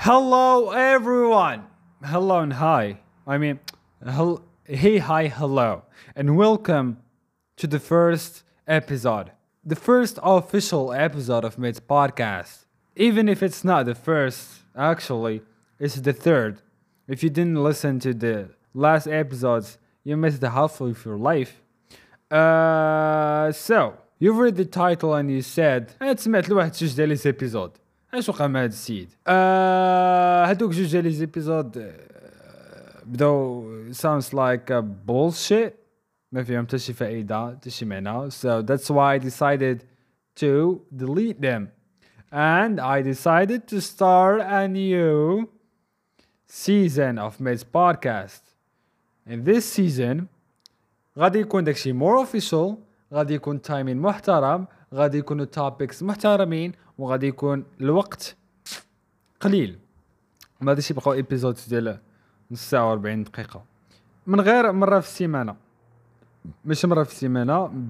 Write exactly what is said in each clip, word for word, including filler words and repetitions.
Hello, everyone. Hello and hi. I mean, hel- hey, hi, hello, and welcome to the first episode, the first official episode of Mid's podcast. Even if it's not the first, actually, it's the third. If you didn't listen to the last episodes, you missed the half of your life. Uh, so you've read the title and you said انا سمعت لواحد جوج ديال لي زيبيزود اش وقع مع هاد السيد آه هادوك جوج ديال لي زيبيزود آه، بداو sounds like a bullshit ما فيهم حتى شي فائدة حتى شي معنى so that's why I decided to delete them and I decided to start a new season of Mid's podcast. In this season غادي يكون داكشي مور اوفيشال، غادي يكون تايمين محترم، غادي يكونوا توبكس محترمين، وغادي يكون الوقت قليل. ما غاديش يبقاو ايبيزودز ديال نص ساعه وأربعين دقيقه، من غير مره في السيمانه، مش مره في السيمانه ب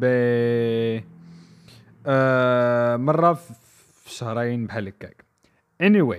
آه مره في شهرين بحال هكاك. anyway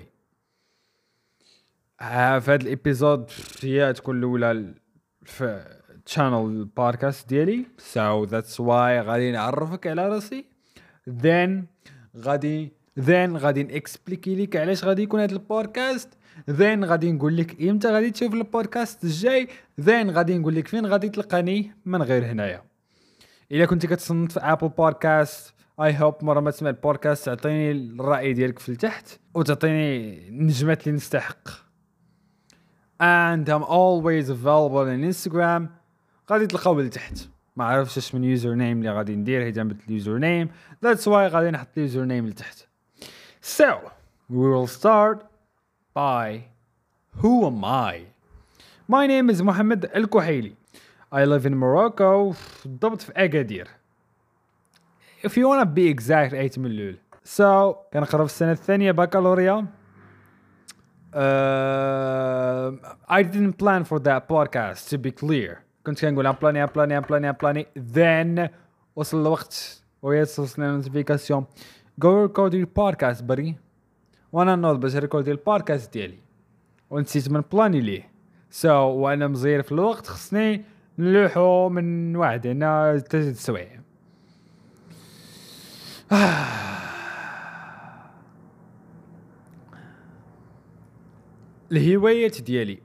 آه في هذا الابيزود هي تكون الاولى في channel البودكاست ديالي so that's why غادي نعرفك على راسي then غادي then غادي نكسبليكي لك علاش غادي يكون هذا البودكاست then غادي نقول لك امتى غادي تشوف البودكاست الجاي then غادي نقول لك فين غادي تلقاني من غير هنايا. الا كنتي كتصنت في ابل بودكاست اي هوب مره ما تسمع البودكاست تعطيني الراي ديالك في التحت وتعطيني نجمات اللي نستحق and I'm always available on Instagram. غادي تلقاو لتحت ما عرفتش اش من يوزر نيم اللي غادي ندير هي جنب اليوزر نيم that's why غادي نحط اليوزر نيم لتحت. So we will start by who am I? My name is محمد الكحيلي. I live in Morocco بالضبط في أكادير. If you wanna be exact eight ملول. So كنقرا في السنة الثانية بكالوريا. Uh, I didn't plan for that podcast to be clear. كنت كنقول امبلاني امبلاني امبلاني امبلاني then وصل الوقت ويتصلنا النوتيفيكاسيون go record your podcast buddy وانا نوض باش ريكوردي البودكاست ديالي ونسيت من بلاني ليه so وانا مزير في الوقت خصني نلوحو من واحد هنا ثلاثة سوايع. الهوايات ديالي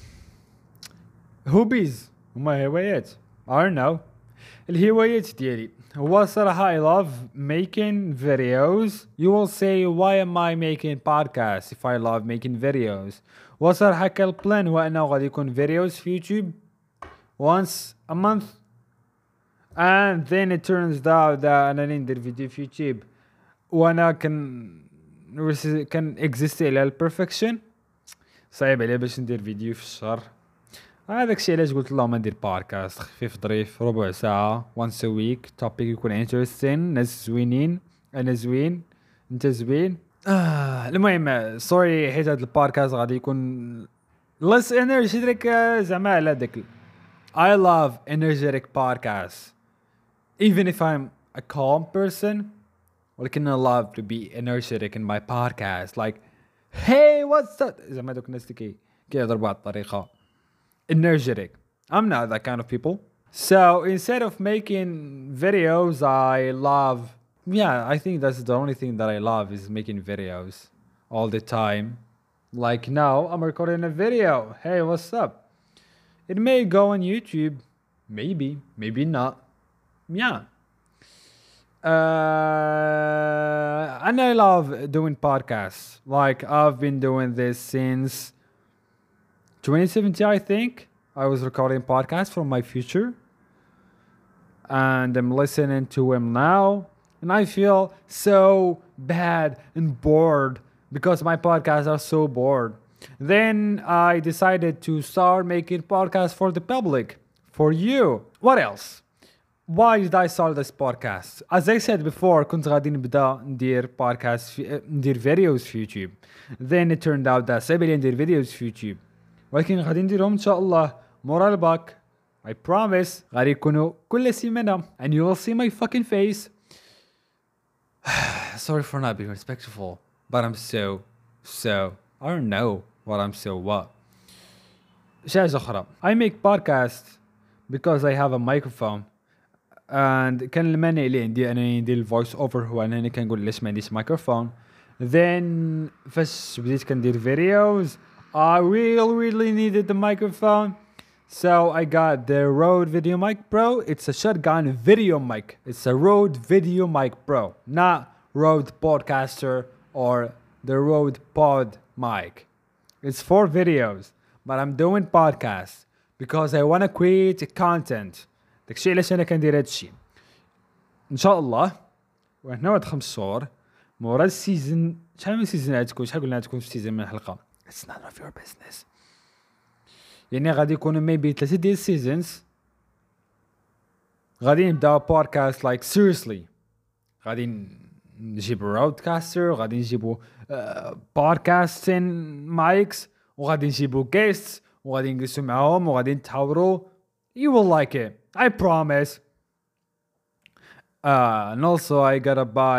هوبيز هما هوايات I don't know. الهوايات ديالي هو صراحة I love making videos. You will say why am I making podcasts if I love making videos. وصراحة كالبلان هو أنه غادي يكون videos في يوتيوب once a month and then it turns out that أنا ندير فيديو في يوتيوب وأنا كان كان exist على البرفكشن صعيب عليه باش ندير فيديو في الشهر. هذاك الشيء علاش قلت اللهم ندير بودكاست خفيف ظريف ربع ساعة once a week توبيك يكون interesting ناس زوينين أنا زوين أنت زوين. آه المهم سوري حيت هذا البودكاست غادي يكون less energetic زعما على داك I love energetic podcasts even if I'm a calm person ولكن I love to be energetic in my podcast like hey what's up زعما دوك الناس اللي كيهضروا بواحد الطريقة energetic. I'm not that kind of people. So instead of making videos, I love, yeah, I think that's the only thing that I love is making videos all the time. Like now, I'm recording a video. Hey, what's up? It may go on YouTube. Maybe, maybe not. Yeah. Uh, and I love doing podcasts. Like I've been doing this since twenty seventeen, I think. I was recording podcasts from my future and I'm listening to him now and I feel so bad and bored because my podcasts are so bored. Then I decided to start making podcasts for the public, for you. What else? Why did I start this podcast? As I said before, كنت غادي نبدا ندير podcast في ندير videos في YouTube. Then it turned out that صعيب عليا ندير videos في YouTube. ولكن غادي نديرهم ان شاء الله مورا الباك I promise غادي يكونوا كل سيمانة and you will see my fucking face. Sorry for not being respectful but I'm so so I don't know what I'm so what. شيء أخرى. I make podcasts because I have a microphone. and كان المانع اللي عندي أنا ندير الفويس أوفر هو أنني كنقول ليش ما عنديش مايكروفون. then فاش بديت كندير videos I really really needed the microphone. So I got the Rode Video Mic Pro. It's a shotgun video mic. It's a Rode Video Mic Pro, not Rode Podcaster or the Rode Pod Mic. It's for videos, but I'm doing podcasts because I want to create content. داكشي علاش انا كندير هادشي. ان شاء الله وهنا واحد خمس شهور مورا السيزون. شحال من سيزون غتكون؟ شحال قلنا غتكون في سيزون من الحلقه؟ It's none of your business. يعني غادي يكونوا ميبي ثلاثة ديال السيزونز غادي نبداو بودكاست لايك سيريسلي. غادي نجيبو رودكاستر وغادي نجيبو بودكاستين مايكس وغادي نجيبو جيستس وغادي نجلسو معاهم وغادي نتحاوروا. You will like it, I promise. Uh, and also I gotta buy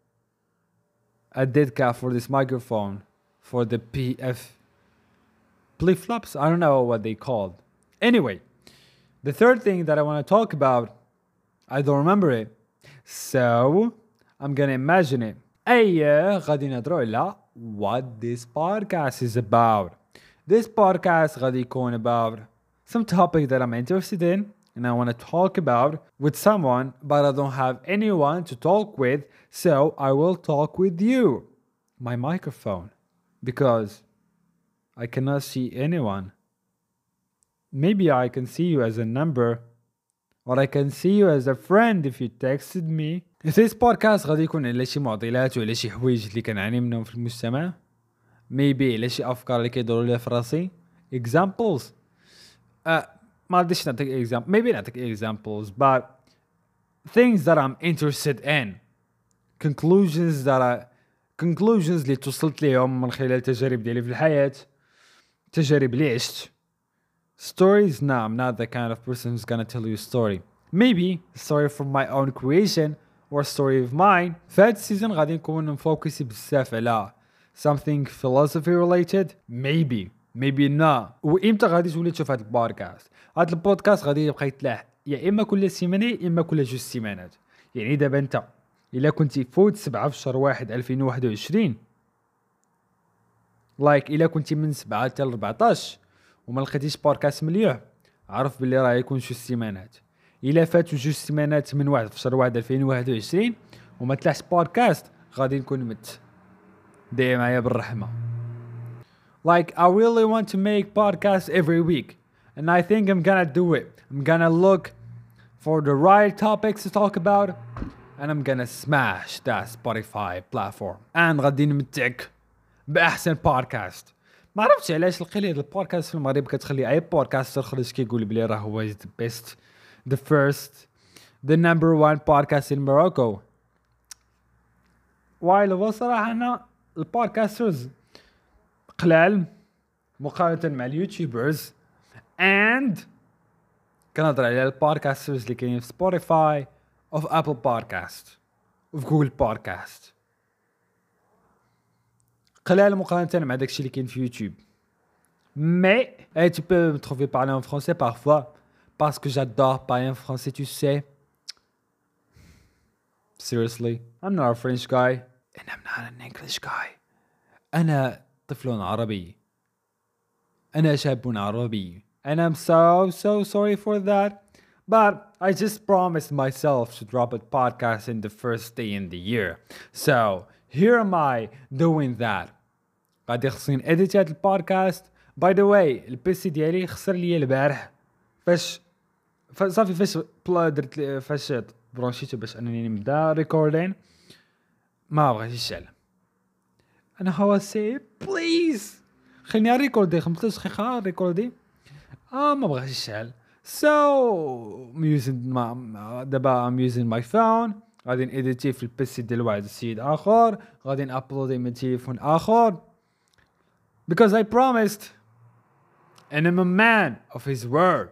a dead cat for this microphone for the P F flip flops. I don't know what they called. Anyway, the third thing that I want to talk about, I don't remember it, so I'm gonna imagine it. أي غادي نهضروا على what this podcast is about. This podcast غادي يكون about some topic that I'm interested in and I want to talk about with someone, but I don't have anyone to talk with, so I will talk with you, my microphone, because I cannot see anyone. Maybe I can see you as a number, or I can see you as a friend if you texted me. This podcast غادي يكون على شي معضلات وعلى شي حوايج اللي كنعاني منهم في المجتمع. Maybe على شي أفكار اللي كيدوروا لي في راسي. Examples. Uh, ما بديش نعطيك example. Maybe نعطيك examples, but things that I'm interested in. Conclusions that I conclusions اللي توصلت ليهم من خلال تجارب ديالي في الحياة. تجارب اللي عشت. Stories? No, I'm not the kind of person who's gonna tell you a story. Maybe a story from my own creation or a story of mine. فهاد السيزون غادي نكون مفوكسي بزاف على something philosophy related. Maybe. Maybe not. وإمتى غادي تولي تشوف هاد البودكاست؟ هاد البودكاست غادي يبقى يتلاح يا إما كل سيمانة يا إما كل جوج سيمانات. يعني دابا أنت إلا كنتي فوت سبعة في شهر واحد ألفين وواحد وعشرين لايك إلا كنتي من سبعة حتى لربعطاش وما لقيتيش بودكاست مليح عرف باللي راه يكون جوج سيمانات. إلا فاتوا جوج سيمانات من واحد في شهر واحد ألفين وواحد وعشرين وما تلاحش بودكاست غادي نكون مت. داير معايا بالرحمة. Like I really want to make podcasts every week and I think I'm gonna do it. I'm gonna look for the right topics to talk about and I'm gonna smash that Spotify platform. and غادي نمتعك بأحسن بودكاست. ما عرفتش علاش القليل هاد البودكاست في المغرب كتخلي اي بودكاستر خرج كيقول بلي راه هو the best, the first, the number one podcast in Morocco. while هو صراحة أنا البودكاسترز قلال مقارنة مع اليوتيوبرز and كنهضر على البودكاسترز اللي كاينين في سبوتيفاي of Apple Podcast of Google Podcast قلال مقارنة مع داكشي اللي كاين في يوتيوب. mais hey, tu peux me trouver parler en français parfois parce que j'adore parler en français, tu sais. Seriously, I'm not a French guy and I'm not an English guy. أنا طفل عربي. أنا شاب عربي. And I'm so so sorry for that. But I just promised myself to drop a podcast in the first day in the year. So here am I doing that. غادي خصني اديت هاد البودكاست. By the way, البيسي ديالي خسر لي البارح فاش صافي فاش درت فاش برونشيتو باش انني نبدا ريكوردين ما بغاش يشعل. انا هو سي بليز خليني ريكوردي خمسطاش دقيقه ريكوردي اه ما بغاش يشعل. So I'm using my دابا I'm using my phone. غادي نيديتي في البيسي ديال واحد السيد اخر غادي نابلودي من تليفون اخر because I promised and I'm a man of his word.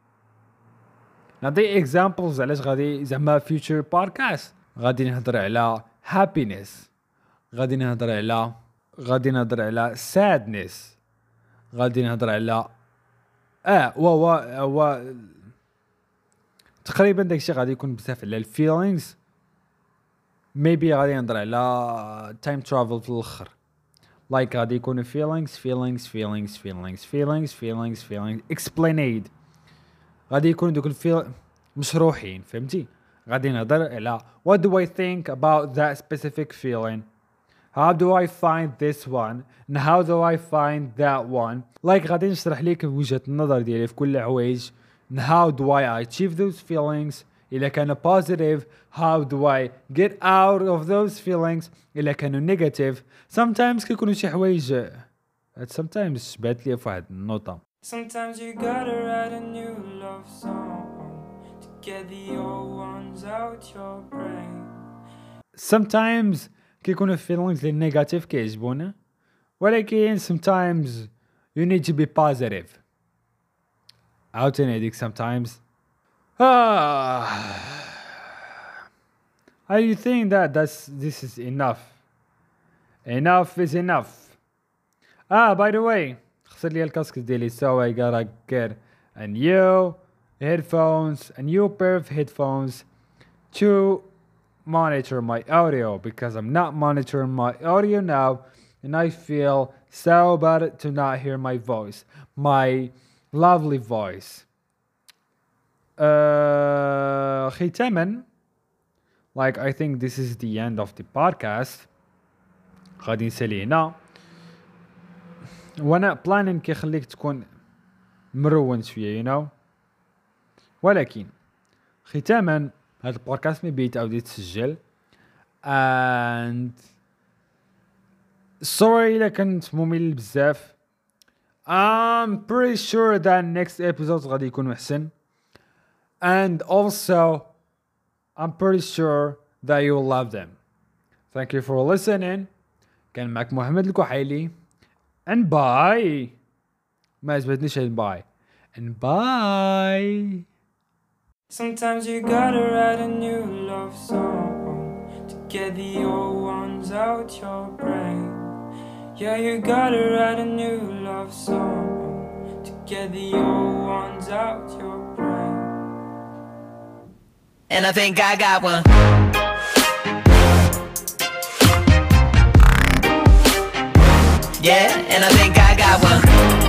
نعطي examples علاش غادي زعما future podcast غادي نهضر على happiness غادي نهضر على غادي نهضر على sadness، غادي نهضر على اه و و و تقريبا داكشي غادي يكون بزاف على الفيلينغز. ميبي غادي نهضر على تايم ترافل في الاخر، لايك غادي يكون feelings feelings feelings feelings feelings feelings feelings explained، غادي يكون دوك الفيل مشروحين فهمتي. غادي نهضر على what do I think about that specific feeling, how do I find this one and how do I find that one. like غادي نشرح ليك وجهة النظر ديالي في كل حوايج and how do I achieve those feelings إلا كانوا positive, how do I get out of those feelings إلا كانوا negative. sometimes كيكونوا شي حوايج sometimes شبات لي في واحد النوطة. Sometimes you gotta write a new love song to get the old ones out your brain. sometimes كيكونوا feelings اللي negative كيعجبونا، ولكن sometimes you need to be positive. عاوتاني هاديك sometimes ah I think that that's this is enough. Enough is enough. Ah, by the way, خسر لي الكاسك ديالي so I gotta get a new headphones, a new pair of headphones to monitor my audio because I'm not monitoring my audio now and I feel so bad to not hear my voice, my lovely voice. Uh, ختاما, like I think this is the end of the podcast. غادي نسالي هنا وانا بلانين كيخليك تكون مرون شويه you know. ولكن ختاما هذا البودكاست مي بيت او يتسجل and sorry الا كنت ممل بزاف. I'm pretty sure that next episode غادي يكون احسن and also I'm pretty sure that you will love them. Thank you for listening. كان معك محمد الكحيلي and bye. ما عجبتنيش هاد باي and bye. Sometimes you gotta write a new love song to get the old ones out your brain. Yeah, you gotta write a new love song to get the old ones out your brain. And I think I got one. Yeah, and I think I got one.